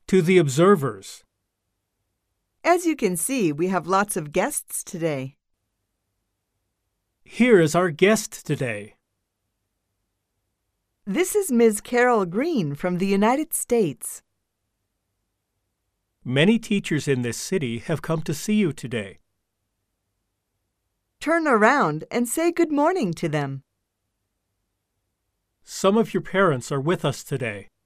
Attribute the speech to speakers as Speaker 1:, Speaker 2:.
Speaker 1: To the observers.
Speaker 2: As you can see, we have lots of guests today.
Speaker 1: Here is our guest today.
Speaker 2: This is Ms. Carol Green from the United States.
Speaker 1: Many teachers in this city have come to see you today.
Speaker 2: Turn around and say good morning to them.
Speaker 1: Some of your parents are with us today.